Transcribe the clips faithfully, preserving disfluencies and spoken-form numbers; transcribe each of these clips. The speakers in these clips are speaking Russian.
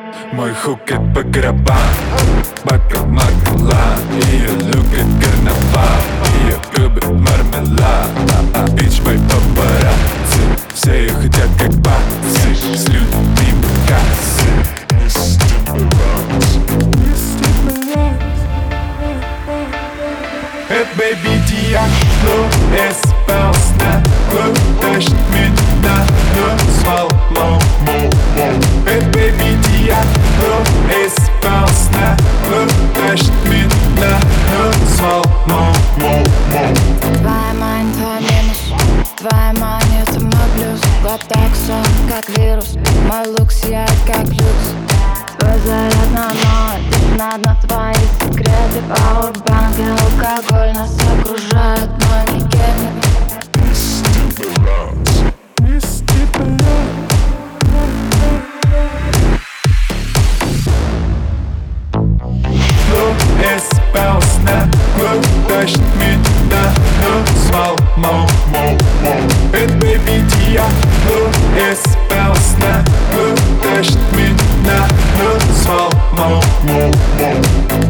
Мой хукет по гробам, бака макала. Ее любит карнавал, ее губы мармелад. А бич мой папарацци, все ее хотят как бацы. С людьми кассы. Это baby Diablo, espace на клуб, тащит меня на свал, моу, моу, моу. Это baby Diablo, espace на клуб, тащит меня на свал, моу, моу, моу. Твоя мань, твой минус, твоя мань, это мой плюс. Глоток сон, как вирус, мой лук сияет, как люкс. Твой заряд на ноль, точно на твои секреты. Пауэрбанк и алкоголь нас окружают, но не гель. Espace на клуб, тащит меня на свал, моу, моу, моу. Это baby Diablo, espace на клуб, тащит меня на свал, моу, моу, моу.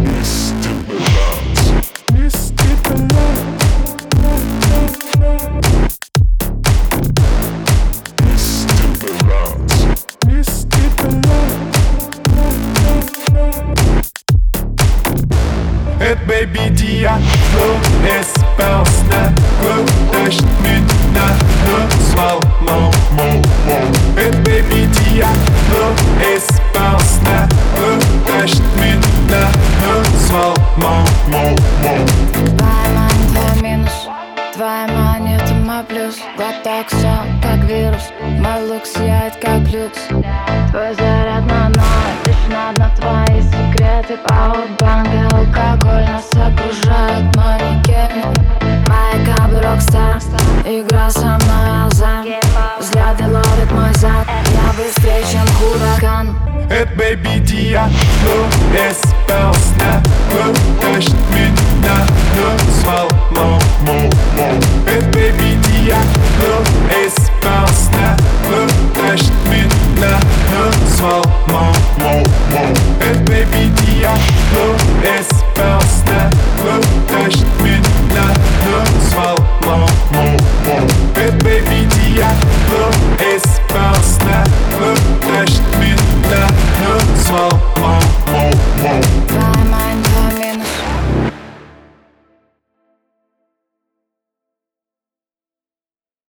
Это baby Diablo, espace на клуб, тащит меня на свал, моу, моу, моу. Это baby Diablo, espace на клуб, тащит меня на свал, моу, моу, моу. Твоя мань, твой минус, твоя мань, это мой плюс. Глоток сон, как вирус, мой лук сияет, как люкс. Твой заряд на ноль, точно на твои секреты. Пауэрбанк и алкоголь нас окружают, но не гель. Моя кабы рокстар, игра со мной азарт. Взгляды ловят мой зад, я быстрее, чем хуракан. Это baby Diablo, espace на клуб, тащит меня на свал, моу, моу, моу. Это baby Diablo, espace на клуб, тащит меня на свал, моу, моу, моу. Это baby Diablo, espace на клуб, тащит меня на свал, моу, моу, моу. Это baby Diablo,